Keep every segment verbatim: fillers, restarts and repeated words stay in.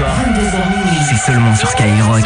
soir. vingt-deux heures minuit. C'est seulement sur Skyrock.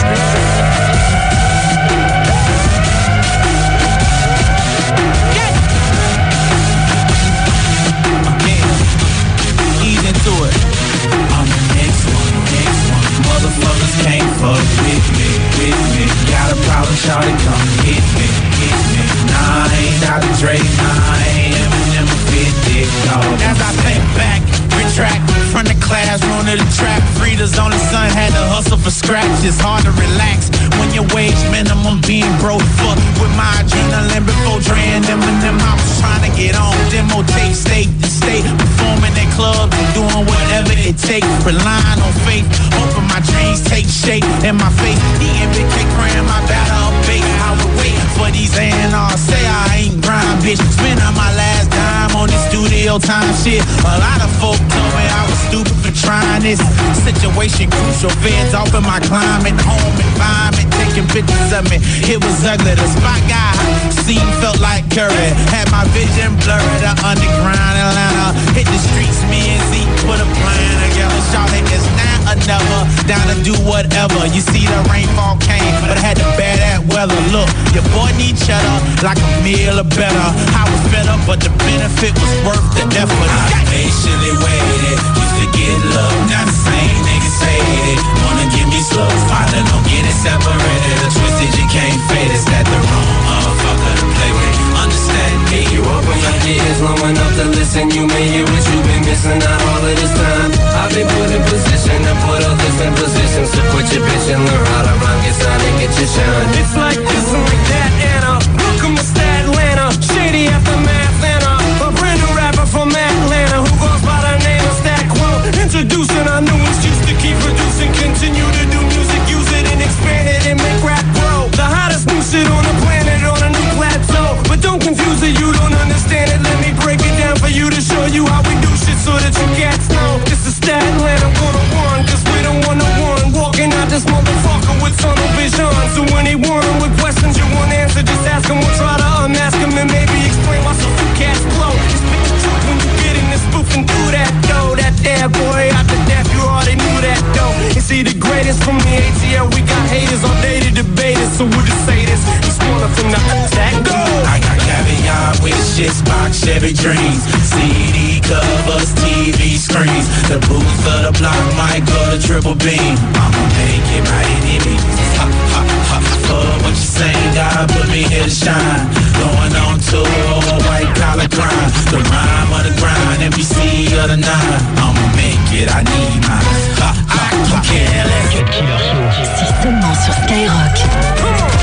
Motherfuckers can't fuck with me, with me. Got a problem, shawty, come hit me, hit me. Nah, I ain't Doctor Dre, nah, I ain't Eminem, fifty, dog. As I think back, retract from the classroom to the trap. Frida's on the sun, had to hustle for scraps. It's hard to relax when your wage minimum being broke. Fuck with my adrenaline before Dre and Eminem. I was trying to get on demo tape, state to state, performing in clubs and doing whatever it takes. Relying on faith, hoping my dreams take shape in my face. The M B K crying my battle up bait. I would wait for these A and R. Say I ain't grind, bitch. Spend on my last dime on this studio time shit. A lot of folk told me I was stupid for trying this. Situation crucial, feds off in my climate, home environment, taking pictures of me. It was ugly. The spot guy scene felt like Curry. Had my vision blurry. The underground Atlanta hit the streets. Me and Zeke put a plan together. Shout it is now or never. Down to do whatever. You see the rainfall came, but I had to bear that weather. Look, your boy need cheddar like a meal or better. I was fed up, but the benefit was worth the effort. I patiently waited, used to get love. Now the same niggas hate it. Wanna give me slugs, partner, don't get it separated. The twisted, you can't fade it. That the wrong motherfucker to play with. Understand me, you open your ears long enough to listen. You may hear what you've been missing out all of this time. I've been put in position to put others in positions to put your bitch and learn how to rhyme, get sound and get your shine. It's like this and like that, Anna. Welcome to Stat Atlanta. Shady aftermath, Anna. A brand new rapper from Atlanta who goes by the name of Stat Quo. Introducing our newest, used to keep producing, continue to do music, use it and expand it and make rap grow. The hottest new shit on the planet on a new plateau. But don't confuse it, you don't understand it. Let me break it down for you to show you how we do shit so that you cats know. This is Stat Atlanta one oh one, cause we don't wanna one. Walking out this motherfucker with tunnel vision. So anyone with questions you want answer, just ask him. We'll try to unmask him and maybe explain why some few cats blow. It's been the truth when you get in this spoofing through that dough. That there boy out the death, you already knew that though. Is he the greatest from the A T L? We got haters all day to debate it, so we'll just say this. He's one of them, not attack, go! I got caviar with shit, box, Chevy dreams, C D covers, T V screens. The booth for the block might go to triple beam. I'ma make it by any means. Ha, ha, ha. Fuck what you saying, God put me here to shine. Going on tour, white collar crime. The rhyme of the grind, M V C of the nine. I'ma make it, I need mine. Ha, ha, ha. Cut Killer Show. C'est seulement sur Skyrock. Come on.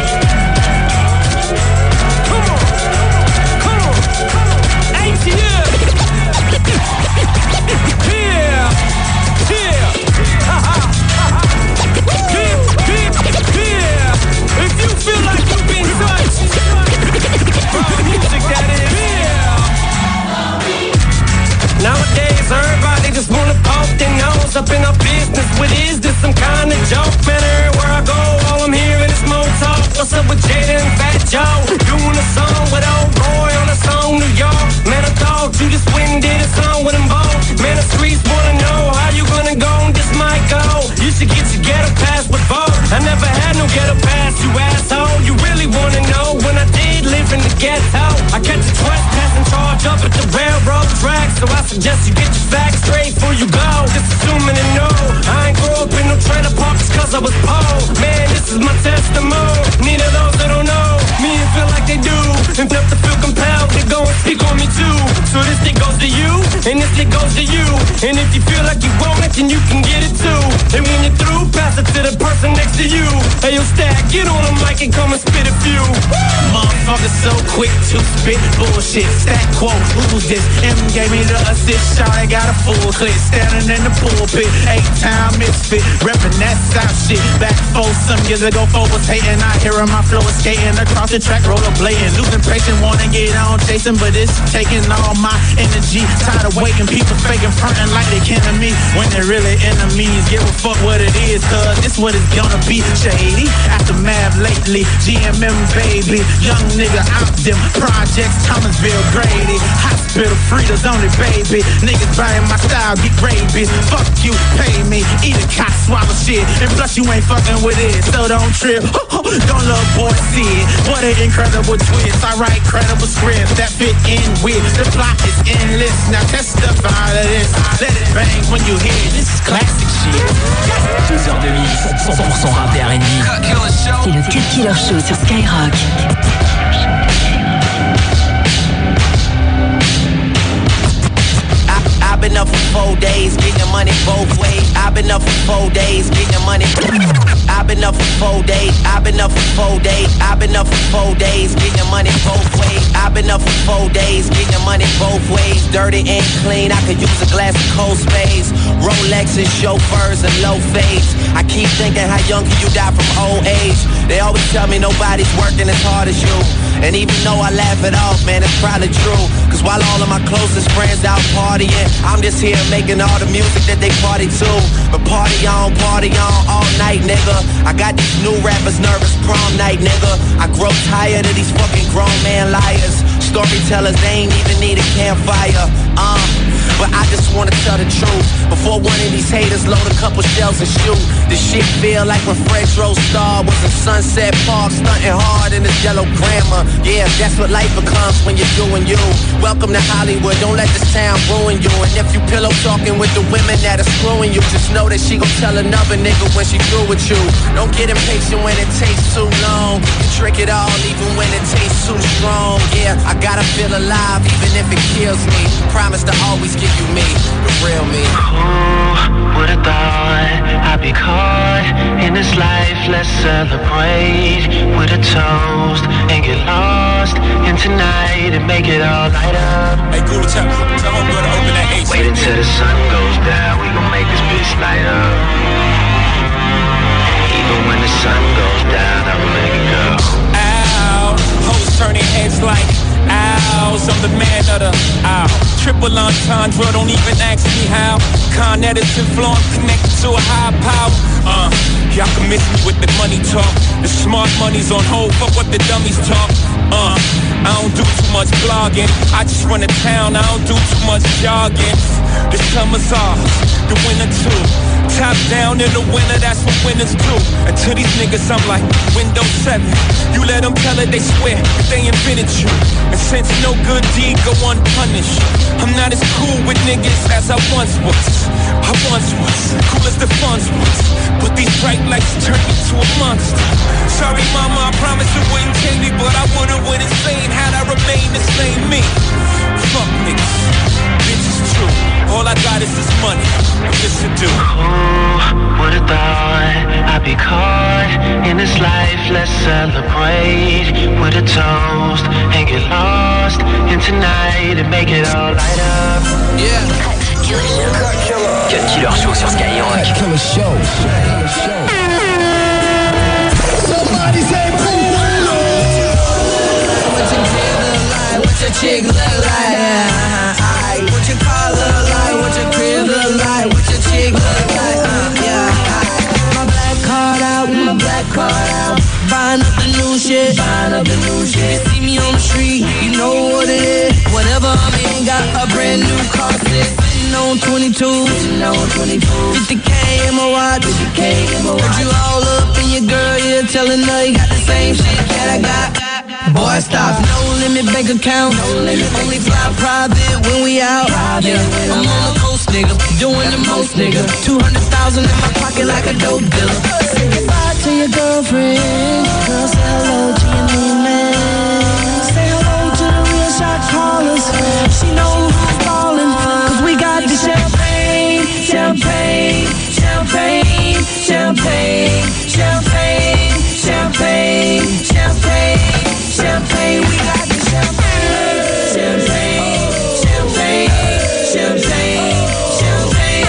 Come on. Come on. A T L. Yeah. Yeah. Ha ha. Yeah. Yeah. If you feel like you've been touched by music, that is. Yeah. Nowadays, everybody just wanna poke their nose up in our business. What is this, some kind of joke? Man, everywhere I go, all I'm hearing is more talk. What's up with Jada and Fat Joe? Doing a song with old Roy on a song New York. Man, I thought you just went and did a song with them both. Man, the streets wanna know how you gonna go and this might go. You should get your ghetto pass with both. I never had no ghetto pass, you asshole. You really wanna know when I did live in the ghetto? I catch a trespassing charge up at the railroad track, so I suggest you get your facts straight before you go. Just assuming to know I ain't grow up in no trailer parks cause I was poor. Man, this is my testimony. Neither of those that don't know me and feel like they do, and feel to feel compelled to go and speak on me too. So this thing goes to you, and this thing goes to you. And if you feel like you want it, then you can get it too. And when you're through, pass it to the person next to you. Hey yo, Stack, get on the mic and come and spit a few. Motherfucker so quick to spit bullshit. Stack quote, who's this? M gave me the assist shot, I got a full clip. Standing in the pulpit, eight-time misfit. Reppin' that South shit. Back four some years ago, four was hating. I hearing my flow is skating across the track, rollerblading. Losing patience, wanna get on chasing, but it's taking all my energy. Tired of waiting, people faking, frontin' like they kin to me when they're really enemies. Give a fuck what it is, cause this what it's gonna be. Shady, aftermath lately, G M M baby, young nigga out them projects, Thomasville, Grady, hospital, Frida's only baby. Niggas buying my style, get rabies. Fuck you, pay me, eat a cock shit. And plus you ain't fucking with it, so don't trip. Don't look boy see it. What an incredible twist. I write credible scripts that fit in with the plot is endless. Now testify to this. Let it bang when you hear it. This is classic shit. deux heures de mix, cent pour cent rap et R and B. C'est le Cut Killer Show sur Skyrock. I've been up for four days, getting money both ways. I've been up for four days, getting money. I've been up for four days. I've been up for four days. I've been up for four days, getting money both ways. I've been up for four days, getting money both ways. Dirty and clean, I could use a glass of cold spades. Rolexes, chauffeurs, and low fades. I keep thinking, how young can you die from old age? They always tell me nobody's working as hard as you. And even though I laugh it off, man, it's probably true. Cause while all of my closest friends out partying, I'm just here making all the music that they party to. But party on, party on, all night, nigga. I got these new rappers nervous prom night, nigga. I grow tired of these fucking grown man liars. Storytellers, they ain't even need a campfire. Uh, but I just wanna tell the truth. Before one of these haters load a couple shells and shoot. This shit feel like when French Rose Star was in Sunset Park, stunting hard in this yellow grammar. Yeah, that's what life becomes when you're doing you. Welcome to Hollywood, don't let this town ruin you. And if you pillow talking with the women that are screwing you, just know that she gon' tell another nigga when she through with you. Don't get impatient when it takes too long. You trick it all even when it tastes too strong. Yeah, I gotta feel alive even if it kills me. Promise to always give you me, the real me. Who would've thought I'd be caught in this life? Let's celebrate with a toast and get lost in tonight and make it all light up. Hey, Guru, tell, tell homegirl to open that H. Wait until the sun goes down, we gon' make this bitch light up. Even when the sun goes down, I will make it go. Ow, hoes turning heads like owls. I'm the man of the owl. Triple entendre, don't even ask me how. Con Edison flow, I'm connected to a high power. Uh, y'all can miss me with the money talk. The smart money's on hold, fuck what the dummies talk. Uh, I don't do too much blogging. I just run a town, I don't do too much jogging. The summer's off, the winter too. Top down in the winter, that's what winners do. And to these niggas, I'm like Windows seven. You let them tell it, they swear that they invented you. And since no good deed go unpunished, I'm not as cool with niggas as I once was. I once was, cool as the funds was. But these bright lights turn me to a monster. Sorry mama, I promise it wouldn't change me, but I would've went insane had I remained the same me. Fuck niggas, bitch is true. All I got is this money, and this to do. Who would've thought I'd be caught in this life? Let's celebrate with a toast and get lost in tonight and make it all light up. Yeah. Cut Killer Show sur Skyrock. Cut Killer Show. Somebody say boom. What your chick look like? What your chick look like? What your car look like? What your crib look like? What your chick look like? Uh, yeah. My black card out, my black card out. Buying up the new shit, buying up the new shit. You see me on the street, you know what it is. Whatever I'm in, got a brand new car set. Sitting on twenty-two, sitting on twenty-two. fifty K in my watch, fifty K in my watch. Heard you all up in your girl, yeah, telling her you got the same shit that I got. Boy, stop, no limit bank account, no limit. Only fly private when we out. Yeah, I'm on the coast, nigga, doing the most, nigga. Two hundred thousand in my pocket like a dope dealer. Say goodbye to your girlfriend. Girl, say hello to your new man. Say hello to the real shot callers. She know who's ballin', cause we got the champagne, champagne, champagne, champagne, champagne, champagne, champagne, champagne. We got the champagne, champagne, champagne, champagne, champagne,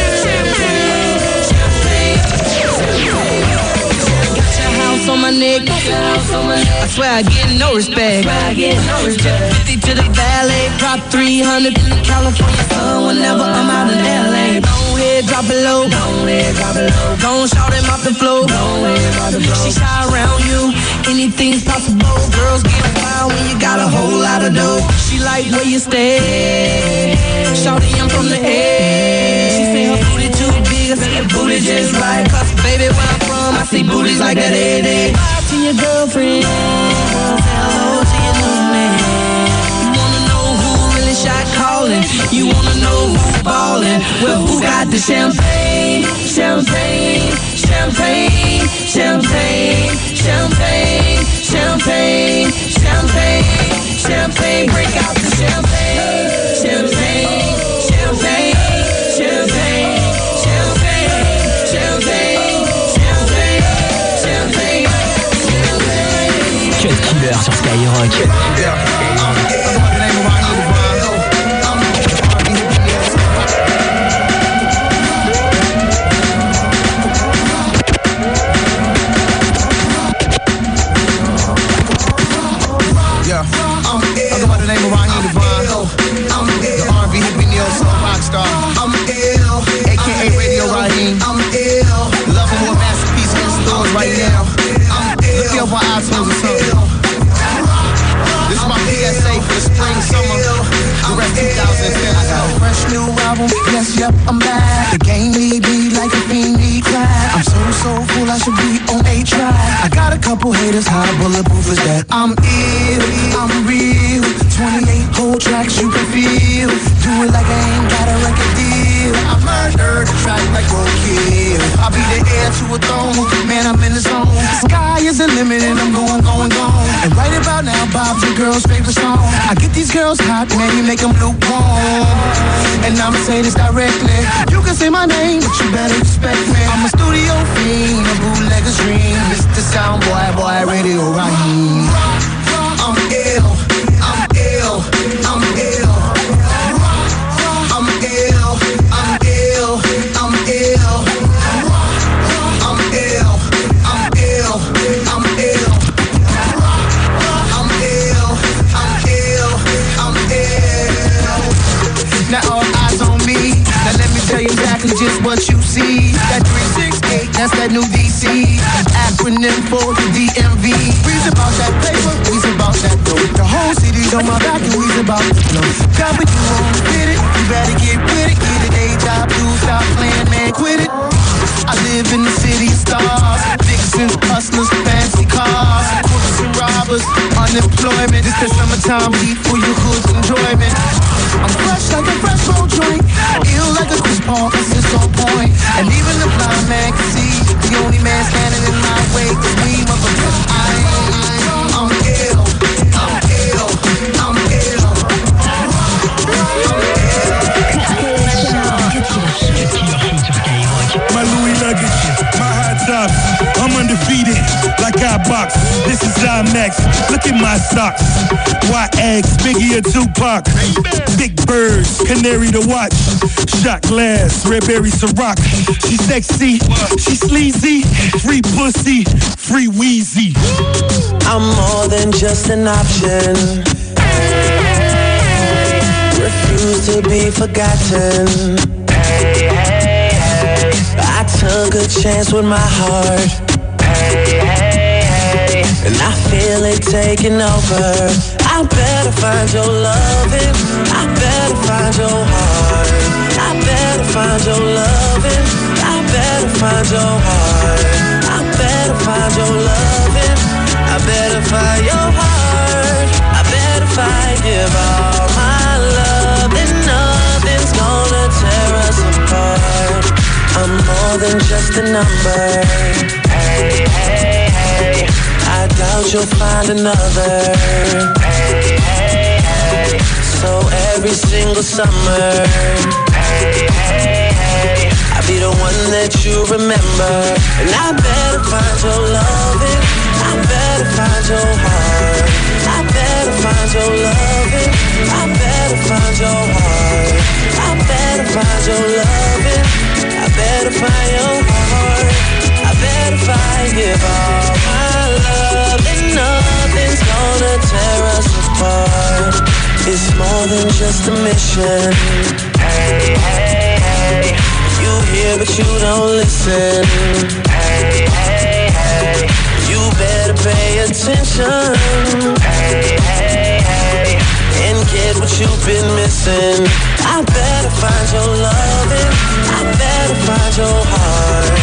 champagne, champagne. Got your house on my neck. I swear I get no respect. fifty to the valet, drop three hundred in the California sun whenever I'm out in L A. Go ahead, drop it low. Don't shout him off the floor. She shy around you, anything's possible. Girls get wild when you got a whole lot of dough. She like where you stay. Shawty, I'm from the edge. She say her booty too big. nigga, see your booty just right. Cause baby, where I'm from, I see booties like that every day. Talk to your girlfriend, say hello to your new man. You wanna know who really shot calling? You wanna know who ballin'? Well, who got the champagne? Champagne, champagne, champagne, champagne, champagne, champagne, champagne. Break out the champagne, champagne, champagne, champagne, champagne, champagne, champagne, champagne. Cut Killer sur Skyrock. Yes, yep, I'm back. The game need me like a fiend need crack. I'm so, so full, I should be on a track. I got a couple haters, how bulletproof is that? I'm ill, I'm real. twenty-eight whole tracks you can feel. Do it like I ain't got a record deal. I murdered the track like roadkill. I'll be the heir to a throne. Man, I'm in the zone. Sky is the limit and I'm going, going, going. And right about now, Bob's your girl's favorite song. I get these girls hot, man, you make them lukewarm. And I'ma say this directly. You can say my name, but you better respect me. I'm a studio fiend, a bootlegger's dream. Mister Sound Boy, boy, Radio Raheem. I'm ill, I'm ill, I'm ill. I'm ill, I'm ill, I'm ill. I'm ill, I'm ill, I'm ill. I'm ill, I'm ill, I'm ill. Now all eyes on me. Now let me tell you exactly just what you see. That three six eight, that's that new D C. Acronym for the D M V. We's about that paper, we's about that dough. The whole city's on my back and we's about to flow. Got what you want, get it, you better get with it. Get a day job, do stop playing, man, quit it. I live in the city of stars. Vixens, hustlers, fancy cars. Crooks and robbers, unemployment. It's the summertime heat for your hood's enjoyment. I'm fresh like a fresh roll joint. Ill like a Chris Paul, cause it's on point. And even the blind man can see the only man standing in my way is me, motherfucker. I am, I'm ill, I'm ill, I'm ill. My Louis luggage, my high tops, I'm undefeated, like I box. This is IMAX, look at my socks. White eggs, Biggie or Tupac. Big birds, canary to watch. Shot glass, red berry Ciroc. She sexy, she sleazy. Free pussy, free Wheezy. I'm more than just an option. Refuse to be forgotten. I took a chance with my heart, and I feel it taking over. I better find your loving, I better find your heart, I better find your loving, I better find your heart, I better find your loving, I better find your heart, I better find, give all my love, and nothing's gonna tear us apart. I'm more than just a number. Hey, hey, hey. I doubt you'll find another. Hey, hey, hey. So every single summer, hey, hey, hey. I'll be the one that you remember. And I better find your loving, I better find your heart, I better find your loving, I better find your heart, I better find your loving, I better find your heart, I better find, give all my love, and nothing's gonna tear us apart. It's more than just a mission. Hey, hey, hey. You hear but you don't listen. Hey, hey, hey. You better pay attention. Hey, hey, hey. And get what you've been missing. I better find your loving, I better find your heart.